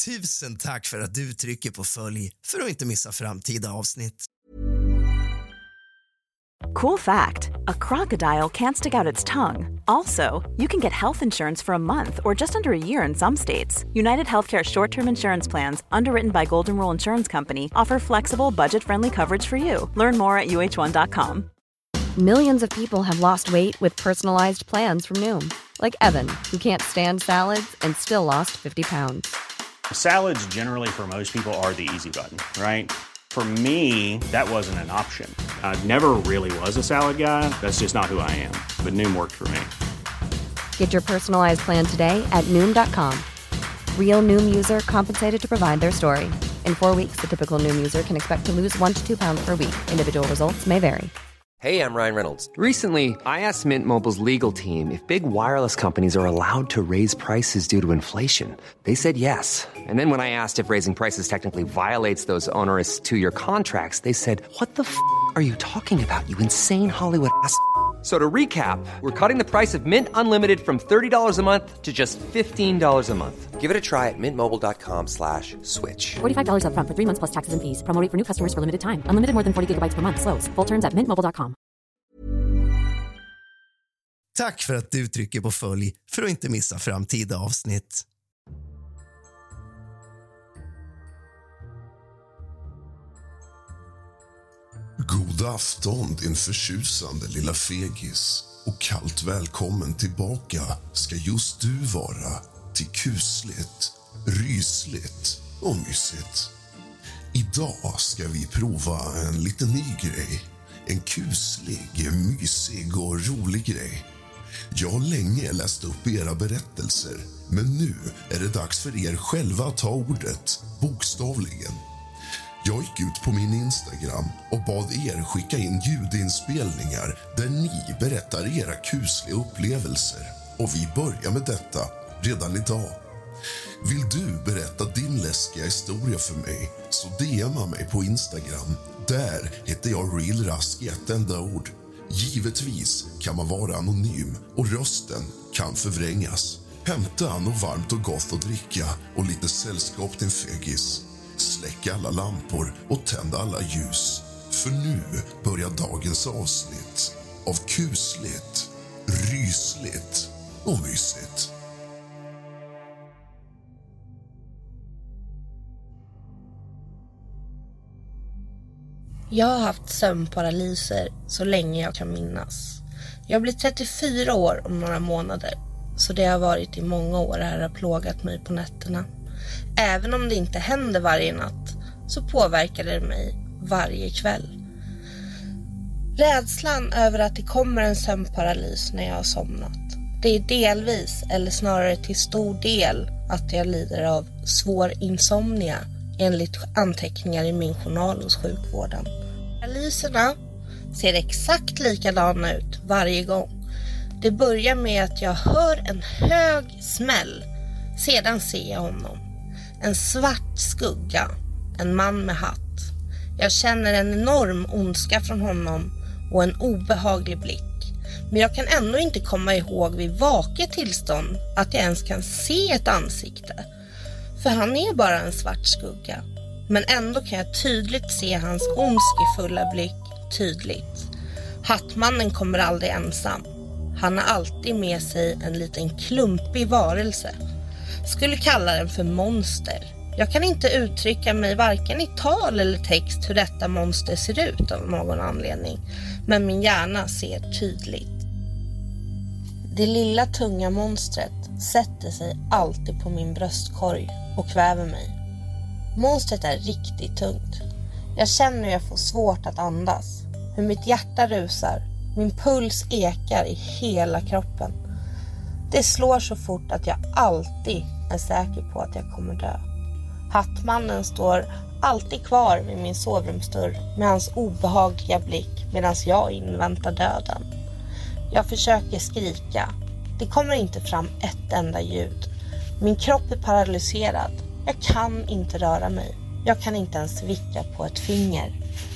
Tusen tack för att du trycker på följ för att inte missa framtida avsnitt. Cool fact, a crocodile can't stick out its tongue. Also, you can get health insurance for a month or just under a year in some states. United Healthcare short-term insurance plans, underwritten by Golden Rule Insurance Company, offer flexible, budget-friendly coverage for you. Learn more at uh1.com. Millions of people have lost weight with personalized plans from Noom. Like Evan, who can't stand salads and still lost 50 pounds. Salads generally for most people are the easy button, right? For me, that wasn't an option. I never really was a salad guy. That's just not who I am. But Noom worked for me. Get your personalized plan today at Noom.com. Real Noom user compensated to provide their story. In 4 weeks, the typical Noom user can expect to lose 1 to 2 pounds per week. Individual results may vary. Hey, I'm Ryan Reynolds. Recently, I asked Mint Mobile's legal team if big wireless companies are allowed to raise prices due to inflation. They said yes. And then when I asked if raising prices technically violates those onerous 2-year contracts, they said, "What the f*** are you talking about, you insane Hollywood ass?" So to recap, we're cutting the price of Mint Unlimited from $30 a month to just $15 a month. Give it a try at mintmobile.com/switch. $45 up front for 3 months plus taxes and fees. Promo rate for new customers for limited time. Unlimited more than 40 gigabytes per month. Slows full terms at mintmobile.com. Tack för att du trycker på följ för att inte missa framtida avsnitt. God afton, din förtjusande lilla fegis. Och kallt välkommen tillbaka ska just du vara till kusligt, rysligt och mysigt. Idag ska vi prova en liten ny grej. En kuslig, mysig och rolig grej. Jag har länge läst upp era berättelser, men nu är det dags för er själva att ta ordet, bokstavligen. Jag gick ut på min Instagram och bad er skicka in ljudinspelningar där ni berättar era kusliga upplevelser. Och vi börjar med detta redan idag. Vill du berätta din läskiga historia för mig, så DMa mig på Instagram. Där heter jag RealRask i ett enda ord. Givetvis kan man vara anonym och rösten kan förvrängas. Hämta något varmt och gott att dricka och lite sällskap till fegis. Släck alla lampor och tänd alla ljus. För nu börjar dagens avsnitt av kusligt, rysligt och mysigt. Jag har haft sömnparalyser så länge jag kan minnas. Jag blir 34 år om några månader, så det har varit i många år här har plågat mig på nätterna. Även om det inte händer varje natt så påverkar det mig varje kväll. Rädslan över att det kommer en sömnparalys när jag har somnat. Det är delvis, eller snarare till stor del, att jag lider av svår insomnia enligt anteckningar i min journal hos sjukvården. Paralyserna ser exakt likadana ut varje gång. Det börjar med att jag hör en hög smäll. Sedan ser jag honom. En svart skugga. En man med hatt. Jag känner en enorm ondska från honom och en obehaglig blick. Men jag kan ändå inte komma ihåg vid vaket tillstånd att jag ens kan se ett ansikte. För han är bara en svart skugga. Men ändå kan jag tydligt se hans ondskefulla blick tydligt. Hattmannen kommer aldrig ensam. Han har alltid med sig en liten klumpig varelse. Skulle kalla den för monster. Jag kan inte uttrycka mig varken i tal eller text hur detta monster ser ut av någon anledning. Men min hjärna ser tydligt. Det lilla tunga monstret sätter sig alltid på min bröstkorg och kväver mig. Monstret är riktigt tungt. Jag känner hur jag får svårt att andas. Hur mitt hjärta rusar. Min puls ekar i hela kroppen. Det slår så fort att jag alltid är säker på att jag kommer dö. Hattmannen står alltid kvar vid min sovrumsdörr med hans obehagliga blick medan jag inväntar döden. Jag försöker skrika. Det kommer inte fram ett enda ljud. Min kropp är paralyserad. Jag kan inte röra mig. Jag kan inte ens vicka på ett finger.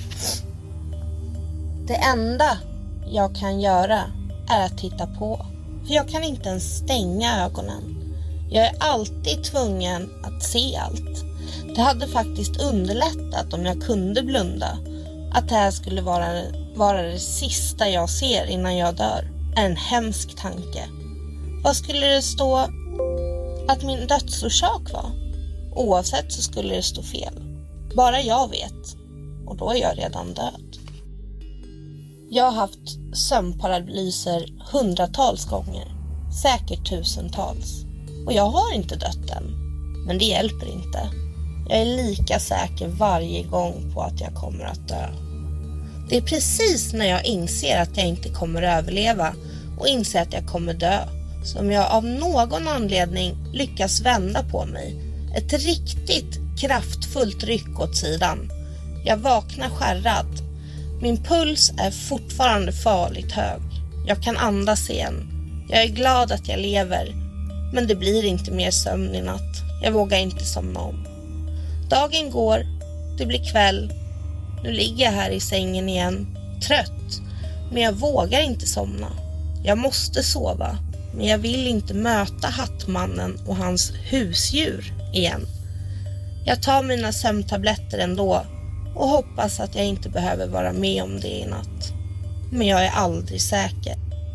Det enda jag kan göra är att titta på. För jag kan inte ens stänga ögonen. Jag är alltid tvungen att se allt. Det hade faktiskt underlättat om jag kunde blunda. Att det här skulle vara det sista jag ser innan jag dör är en hemsk tanke. Vad skulle det stå att min dödsorsak var? Oavsett så skulle det stå fel. Bara jag vet. Och då är jag redan död. Jag har haft sömnparalyser hundratals gånger. Säkert tusentals. Och jag har inte dött än. Men det hjälper inte. Jag är lika säker varje gång på att jag kommer att dö. Det är precis när jag inser att jag inte kommer överleva och inser att jag kommer dö som jag av någon anledning lyckas vända på mig. Ett riktigt kraftfullt ryck åt sidan. Jag vaknar skärrad. Min puls är fortfarande farligt hög. Jag kan andas igen. Jag är glad att jag lever. Men det blir inte mer sömn i natt. Jag vågar inte somna om. Dagen går. Det blir kväll. Nu ligger jag här i sängen igen. Trött. Men jag vågar inte somna. Jag måste sova. Men jag vill inte möta Hattmannen och hans husdjur igen. Jag tar mina sömntabletter ändå. Och hoppas att jag inte behöver vara med om det i natt. Men jag är aldrig säker.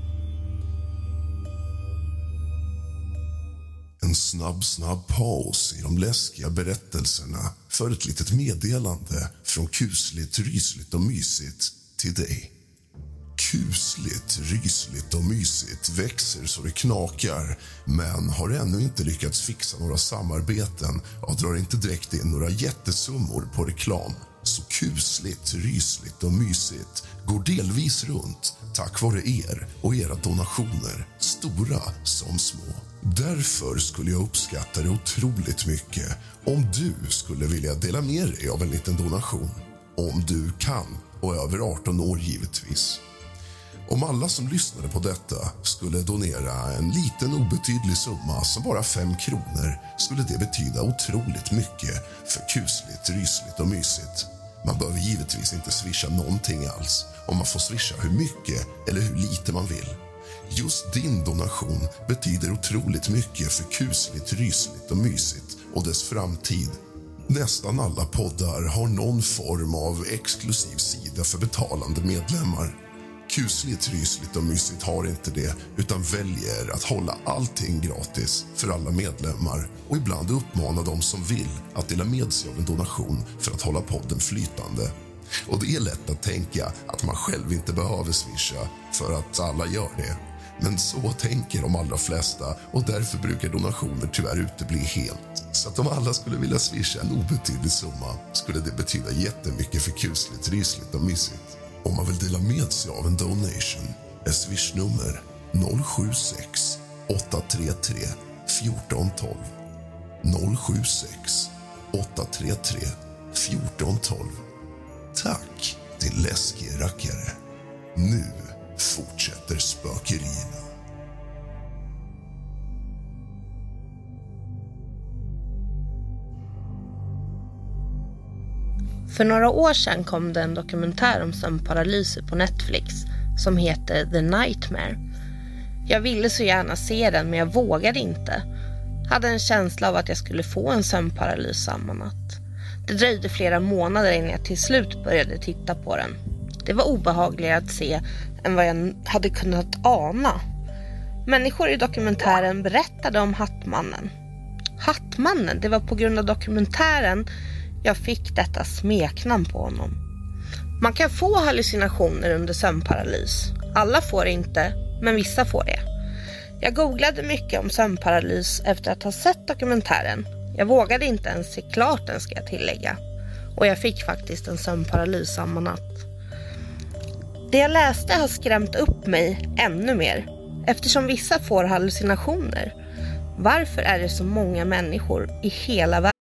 En snabb paus i de läskiga berättelserna för ett litet meddelande från kusligt, rysligt och mysigt till dig. Kusligt, rysligt och mysigt växer så det knakar men har ännu inte lyckats fixa några samarbeten och drar inte direkt in några jättesummor på reklam. Så kusligt, rysligt och mysigt går delvis runt tack vare er och era donationer, stora som små. Därför skulle jag uppskatta det otroligt mycket om du skulle vilja dela med dig av en liten donation. Om du kan och över 18 år givetvis. Om alla som lyssnade på detta skulle donera en liten obetydlig summa som bara 5 kronor skulle det betyda otroligt mycket för kusligt, rysligt och mysigt. Man behöver givetvis inte swisha någonting alls om man får swisha hur mycket eller hur lite man vill. Just din donation betyder otroligt mycket för kusligt, rysligt och mysigt och dess framtid. Nästan alla poddar har någon form av exklusiv sida för betalande medlemmar. Kusligt, rysligt och mysigt har inte det utan väljer att hålla allting gratis för alla medlemmar och ibland uppmana de som vill att dela med sig av en donation för att hålla podden flytande. Och det är lätt att tänka att man själv inte behöver swisha för att alla gör det. Men så tänker de allra flesta och därför brukar donationer tyvärr utebli helt. Så att om alla skulle vilja swisha en obetydlig summa skulle det betyda jättemycket för kusligt, rysligt och mysigt. Om man vill dela med sig av en donation är swishnummer 076 833 1412. 076 833 1412. Tack till läskig rackare. Nu fortsätter spökerierna. För några år sedan kom det en dokumentär om sömnparalyser på Netflix som heter The Nightmare. Jag ville så gärna se den men jag vågade inte. Hade en känsla av att jag skulle få en sömnparalys samma natt. Det dröjde flera månader innan jag till slut började titta på den. Det var obehagligare att se än vad jag hade kunnat ana. Människor i dokumentären berättade om Hattmannen. Hattmannen, det var på grund av dokumentären jag fick detta smeknamn på honom. Man kan få hallucinationer under sömnparalys. Alla får det inte, men vissa får det. Jag googlade mycket om sömnparalys efter att ha sett dokumentären. Jag vågade inte ens se klart den, ska jag tillägga. Och jag fick faktiskt en sömnparalys samma natt. Det jag läste har skrämt upp mig ännu mer. Eftersom vissa får hallucinationer. Varför är det så många människor i hela världen?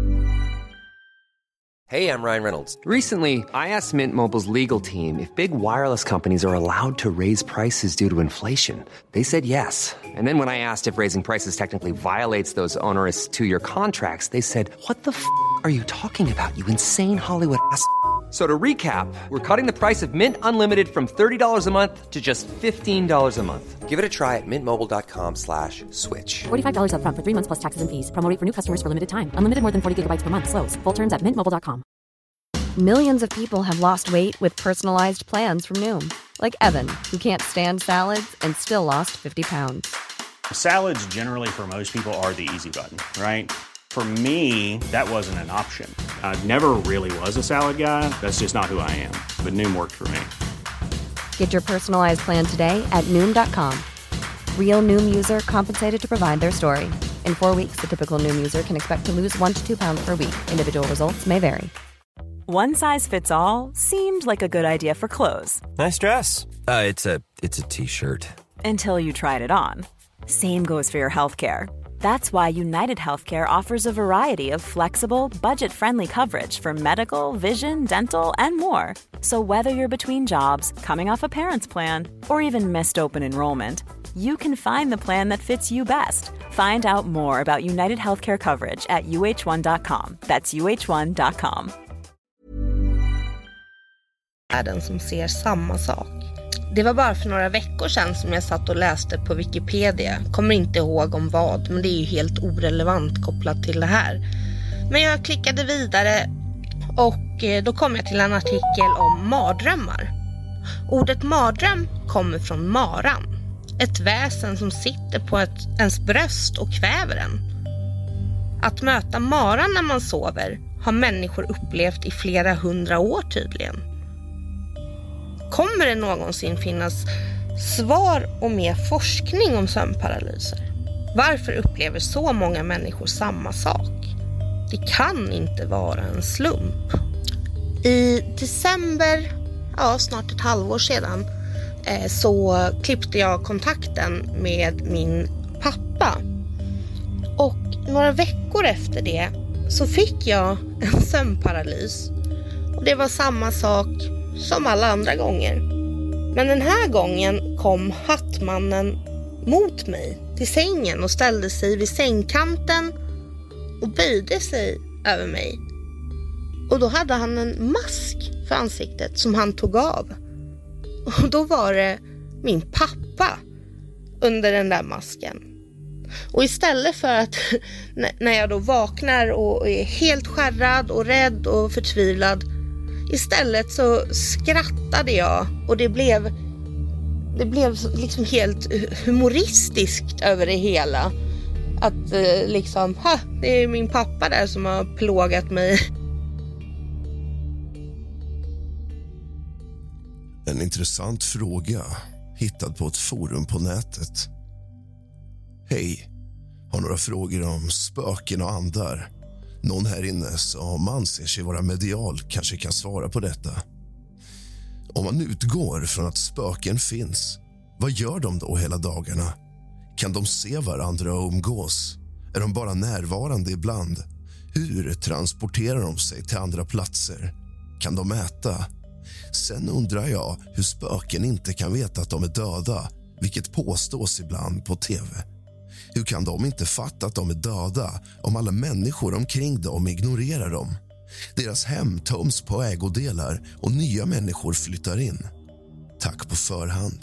Hey, I'm Ryan Reynolds. Recently, I asked Mint Mobile's legal team if big wireless companies are allowed to raise prices due to inflation. They said yes. And then when I asked if raising prices technically violates those onerous 2-year contracts, they said, "What the f*** are you talking about, you insane Hollywood ass?" So to recap, we're cutting the price of Mint Unlimited from $30 a month to just $15 a month. Give it a try at mintmobile.com/switch. $45 up front for 3 months plus taxes and fees. Promo rate for new customers for limited time. Unlimited more than 40 gigabytes per month. Slows full terms at mintmobile.com. Millions of people have lost weight with personalized plans from Noom. Like Evan, who can't stand salads and still lost 50 pounds. Salads generally for most people are the easy button, right? For me, that wasn't an option. I never really was a salad guy. That's just not who I am. But Noom worked for me. Get your personalized plan today at Noom.com. Real Noom user compensated to provide their story. In 4 weeks, the typical Noom user can expect to lose 1 to 2 pounds per week. Individual results may vary. One size fits all seemed like a good idea for clothes. Nice dress. It's a t-shirt. Until you tried it on. Same goes for your healthcare. That's why United Healthcare offers a variety of flexible, budget-friendly coverage for medical, vision, dental, and more. So whether you're between jobs, coming off a parent's plan, or even missed open enrollment, you can find the plan that fits you best. Find out more about United Healthcare coverage at uh1.com. That's uh1.com. Världen som ser samma sak. Det var bara för några veckor sedan som jag satt och läste på Wikipedia. Kommer inte ihåg om vad, men det är ju helt orelevant kopplat till det här. Men jag klickade vidare och då kom jag till en artikel om mardrömmar. Ordet mardröm kommer från maran. Ett väsen som sitter på ens bröst och kväver en. Att möta maran när man sover har människor upplevt i flera 100 år tydligen. Kommer det någonsin finnas svar och mer forskning om sömnparalyser? Varför upplever så många människor samma sak? Det kan inte vara en slump. I december, snart ett halvår sedan, så klippte jag kontakten med min pappa. Och några veckor efter det så fick jag en sömnparalys. Och det var samma sak som alla andra gånger. Men den här gången kom hattmannen mot mig till sängen och ställde sig vid sängkanten och böjde sig över mig. Och då hade han en mask för ansiktet som han tog av. Och då var det min pappa under den där masken. Och istället för att när jag då vaknar och är helt skärrad och rädd och förtvivlad, istället så skrattade jag och det blev liksom helt humoristiskt över det hela. Att liksom, det är min pappa där som har plågat mig. En intressant fråga hittad på ett forum på nätet. Hej, har några frågor om spöken och andar. Någon här inne som anser sig vara medial kanske kan svara på detta. Om man utgår från att spöken finns, vad gör de då hela dagarna? Kan de se varandra och umgås? Är de bara närvarande ibland? Hur transporterar de sig till andra platser? Kan de äta? Sen undrar jag hur spöken inte kan veta att de är döda, vilket påstås ibland på tv. Hur kan de inte fatta att de är döda om alla människor omkring dem ignorerar dem? Deras hem töms på ägodelar och nya människor flyttar in. Tack på förhand.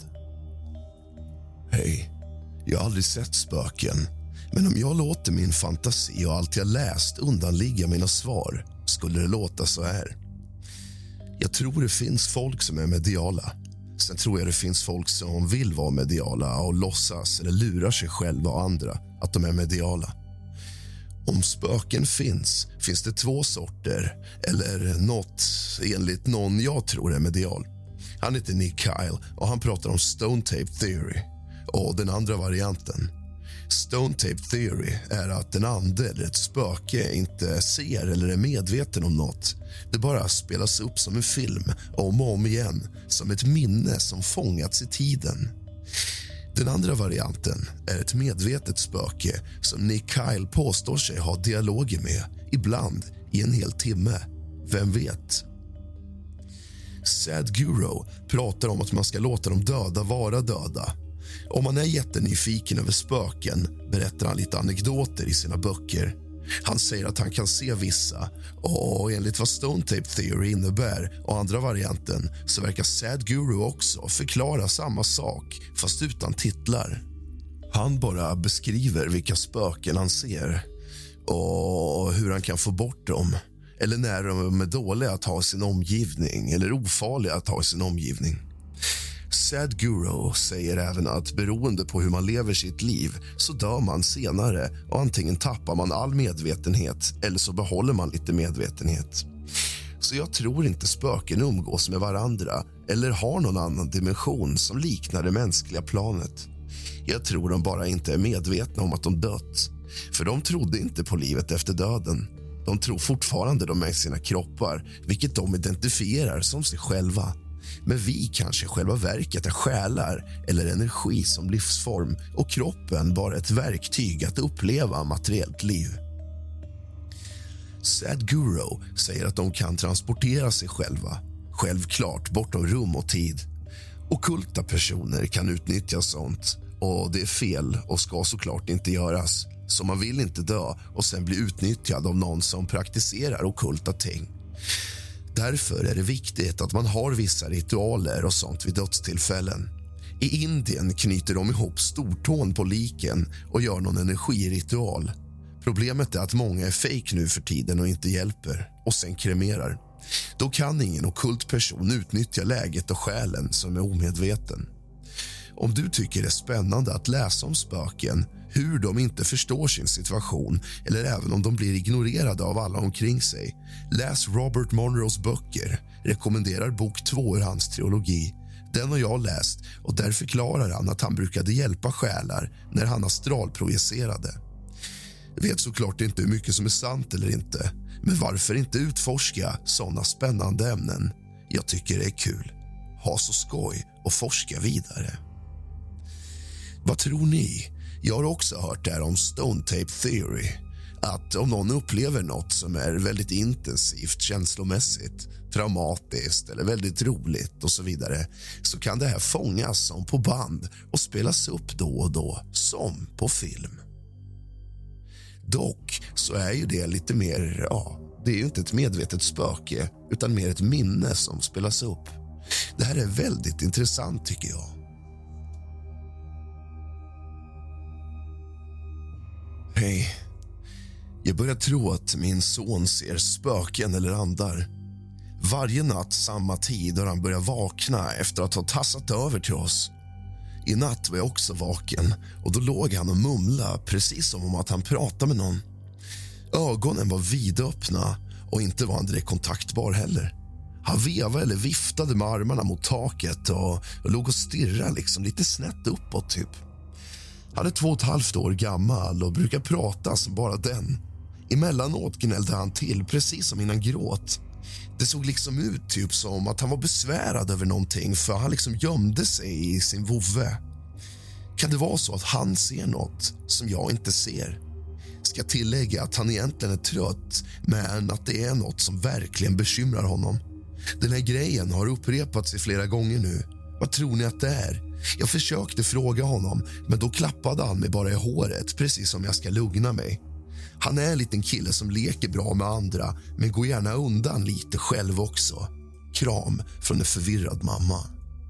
Hej, jag har aldrig sett spöken. Men om jag låter min fantasi och allt jag läst undanligga mina svar skulle det låta så här. Jag tror det finns folk som är mediala. Sen tror jag det finns folk som vill vara mediala och låtsas eller lurar sig själva och andra att de är mediala. Om spöken finns det 2 sorter, eller något enligt någon jag tror är medial. Han heter Nick Kyle och han pratar om Stone Tape Theory. Och den andra varianten. Stone Tape Theory är att en ande eller ett spöke inte ser eller är medveten om något. Det bara spelas upp som en film om och om igen, som ett minne som fångats i tiden. Den andra varianten är ett medvetet spöke som Nick Kyle påstår sig ha dialoger med, ibland i en hel timme. Vem vet? Sadhguru pratar om att man ska låta de döda vara döda. Om man är jättenyfiken över spöken berättar han lite anekdoter i sina böcker. Han säger att han kan se vissa, och enligt vad Stone Tape Theory innebär och andra varianten så verkar Sadhguru också förklara samma sak fast utan titlar. Han bara beskriver vilka spöken han ser och hur han kan få bort dem, eller när de är dåliga att ha i sin omgivning eller ofarliga att ha i sin omgivning. Sadhguru säger även att beroende på hur man lever sitt liv så dör man senare och antingen tappar man all medvetenhet eller så behåller man lite medvetenhet. Så jag tror inte spöken umgås med varandra eller har någon annan dimension som liknar det mänskliga planet. Jag tror de bara inte är medvetna om att de dött. För de trodde inte på livet efter döden. De tror fortfarande de är sina kroppar, vilket de identifierar som sig själva. Men vi kanske själva verket är själar eller energi som livsform och kroppen bara ett verktyg att uppleva materiellt liv. Sadhguru säger att de kan transportera sig själva, självklart bortom rum och tid. Ockulta personer kan utnyttja sånt, och det är fel och ska såklart inte göras. Så man vill inte dö och sen bli utnyttjad av någon som praktiserar ockulta ting. Därför är det viktigt att man har vissa ritualer och sånt vid dödstillfällen. I Indien knyter de ihop stortån på liken och gör någon energiritual. Problemet är att många är fake nu för tiden och inte hjälper, och sen kremerar. Då kan ingen ockult person utnyttja läget och själen som är omedveten. Om du tycker det är spännande att läsa om spöken, hur de inte förstår sin situation eller även om de blir ignorerade av alla omkring sig, läs Robert Monroes böcker. Rekommenderar bok 2 ur hans trilogi. Den har jag läst, och där förklarar han att han brukade hjälpa själar när han astralprojicerade. Jag vet såklart inte hur mycket som är sant eller inte, men varför inte utforska såna spännande ämnen? Jag tycker det är kul. Ha så skoj och forska vidare. Vad tror ni? Jag har också hört det här om Stone Tape Theory. Att om någon upplever något som är väldigt intensivt, känslomässigt, traumatiskt eller väldigt roligt och så vidare, så kan det här fångas som på band och spelas upp då och då, som på film. Dock så är ju det lite mer, det är ju inte ett medvetet spöke utan mer ett minne som spelas upp. Det här är väldigt intressant tycker jag. Hej. Jag börjar tro att min son ser spöken eller andar. Varje natt samma tid har han börjat vakna efter att ha tassat över till oss. I natt var jag också vaken och då låg han och mumlade precis som om att han pratade med någon. Ögonen var vidöppna och inte var han direkt kontaktbar heller. Han vevade eller viftade med armarna mot taket och låg och stirrade liksom lite snett uppåt typ. Han är 2,5 år gammal och brukar prata som bara den. Emellanåt gnällde han till precis som innan gråt. Det såg liksom ut typ som att han var besvärad över någonting, för han liksom gömde sig i sin vovve. Kan det vara så att han ser något som jag inte ser? Ska tillägga att han egentligen är trött, men att det är något som verkligen bekymrar honom. Den här grejen har upprepats i flera gånger nu. Vad tror ni att det är? Jag försökte fråga honom, men då klappade han mig bara i håret, precis som jag ska lugna mig. Han är en liten kille som leker bra med andra, men går gärna undan lite själv också. Kram från en förvirrad mamma.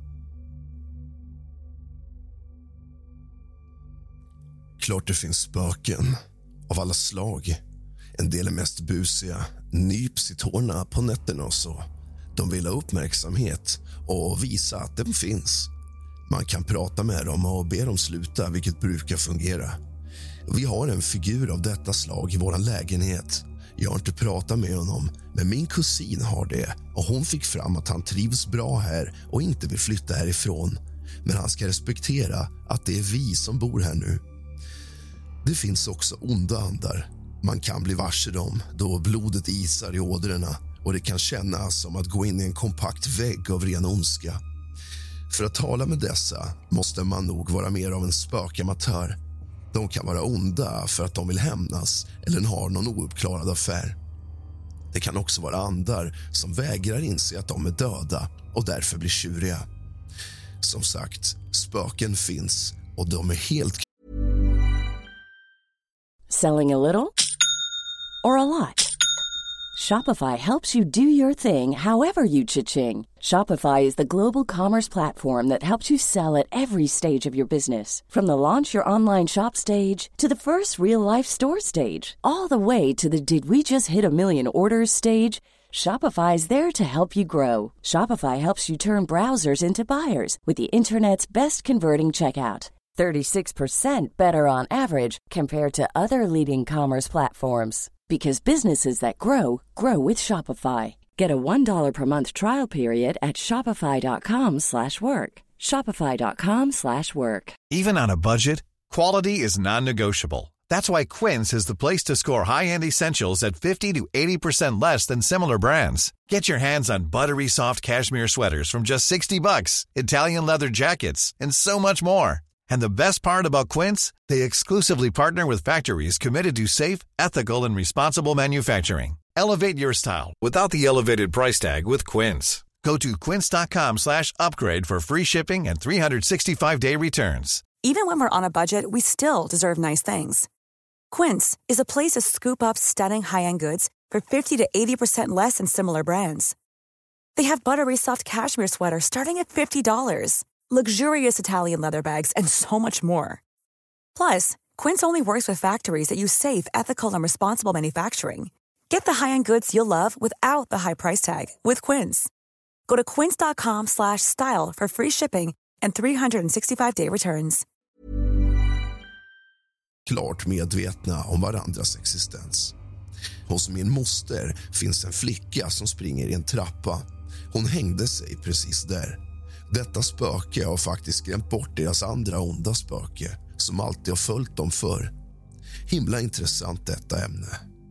Klart det finns spöken av alla slag. En del är mest busiga, nyps i tårna på nätterna och så. De vill ha uppmärksamhet och visa att de finns. Man kan prata med dem och be dem sluta, vilket brukar fungera. Vi har en figur av detta slag i vår lägenhet. Jag har inte pratat med honom, men min kusin har det och hon fick fram att han trivs bra här och inte vill flytta härifrån. Men han ska respektera att det är vi som bor här nu. Det finns också onda andar. Man kan bli varse dem då blodet isar i ådrorna och det kan kännas som att gå in i en kompakt vägg av ren ondska. För att tala med dessa måste man nog vara mer av en spökamatör. De kan vara onda för att de vill hämnas eller har någon ouppklarad affär. Det kan också vara andar som vägrar inse att de är döda och därför blir tjuriga. Som sagt, spöken finns och de är helt... Selling a little or a lot? Shopify helps you do your thing however you cha-ching. Shopify is the global commerce platform that helps you sell at every stage of your business. From the launch your online shop stage to the first real-life store stage, all the way to the did we just hit a million orders stage. Shopify is there to help you grow. Shopify helps you turn browsers into buyers with the internet's best converting checkout. 36% better on average compared to other leading commerce platforms. Because businesses that grow, grow with Shopify. Get a $1 per month trial period at shopify.com/work. Shopify.com/work. Even on a budget, quality is non-negotiable. That's why Quince is the place to score high-end essentials at 50 to 80% less than similar brands. Get your hands on buttery soft cashmere sweaters from just $60, Italian leather jackets, and so much more. And the best part about Quince, they exclusively partner with factories committed to safe, ethical, and responsible manufacturing. Elevate your style without the elevated price tag with Quince. Go to quince.com/upgrade for free shipping and 365-day returns. Even when we're on a budget, we still deserve nice things. Quince is a place to scoop up stunning high-end goods for 50 to 80% less than similar brands. They have buttery soft cashmere sweaters starting at $50, luxurious Italian leather bags, and so much more. Plus, Quince only works with factories that use safe, ethical, and responsible manufacturing. Get the high-end goods you'll love without the high price tag with Quince. Go to quince.com/style for free shipping and 365-day returns. Klart medvetna om varandras existens. Hos min moster finns en flicka som springer i en trappa. Hon hängde sig precis där. Detta spöke har faktiskt skrämt bort deras andra onda spöke som alltid har följt dem för. Himla intressant detta ämne.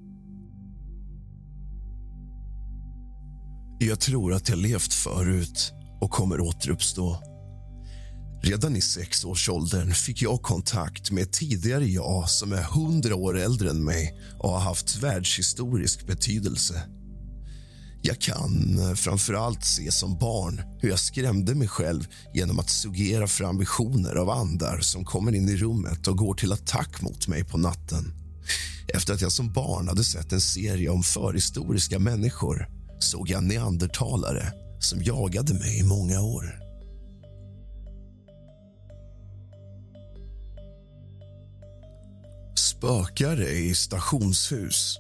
Jag tror att jag levt förut och kommer återuppstå. Redan i 6-årsåldern fick jag kontakt med ett tidigare jag som är 100 år äldre än mig och har haft världshistorisk betydelse. Jag kan framförallt se som barn hur jag skrämde mig själv genom att suggera fram visioner av andar som kommer in i rummet och går till attack mot mig på natten. Efter att jag som barn hade sett en serie om förhistoriska människor såg jag neandertalare som jagade mig i många år. Spökare i stationshus.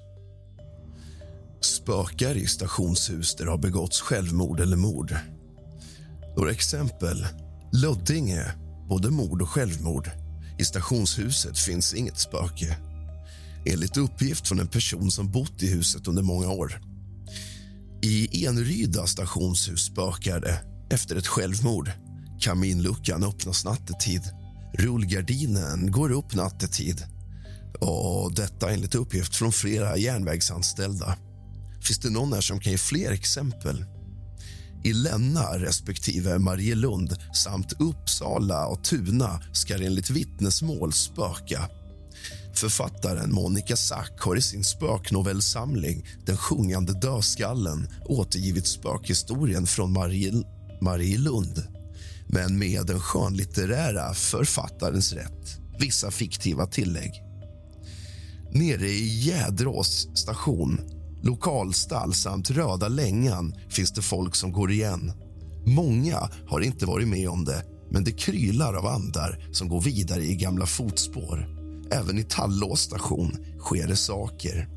Spökare i stationshus där har begåtts självmord eller mord. Några exempel. Löddinge, både mord och självmord. I stationshuset finns inget spöke. Enligt uppgift från en person som bott i huset under många år. I Eneryda stationshus spökar det efter ett självmord. Kaminluckan öppnas nattetid. Rullgardinen går upp nattetid. Och detta enligt uppgift från flera järnvägsanställda. Finns det någon här som kan ge fler exempel? I Länna respektive Marielund samt Uppsala och Tuna ska enligt vittnesmål spöka. Författaren Monica Sack har i sin spöknovellsamling Den sjungande dödskallen återgivit spökhistorien från Marielund, men med den skönlitterära författarens rätt. Vissa fiktiva tillägg. Nere i Jädrås station, lokalstall samt Röda Längan finns det folk som går igen. Många har inte varit med om det, men det krylar av andar som går vidare i gamla fotspår. Även i Tallås station sker det saker.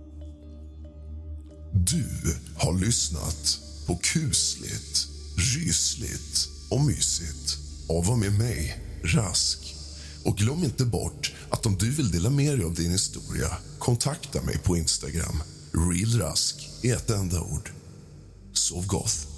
Du har lyssnat på kusligt, rysligt och mysigt och var med mig, Rask. Och glöm inte bort att om du vill dela med dig av din historia, kontakta mig på Instagram. Real Rask i ett enda ord. Sov gott.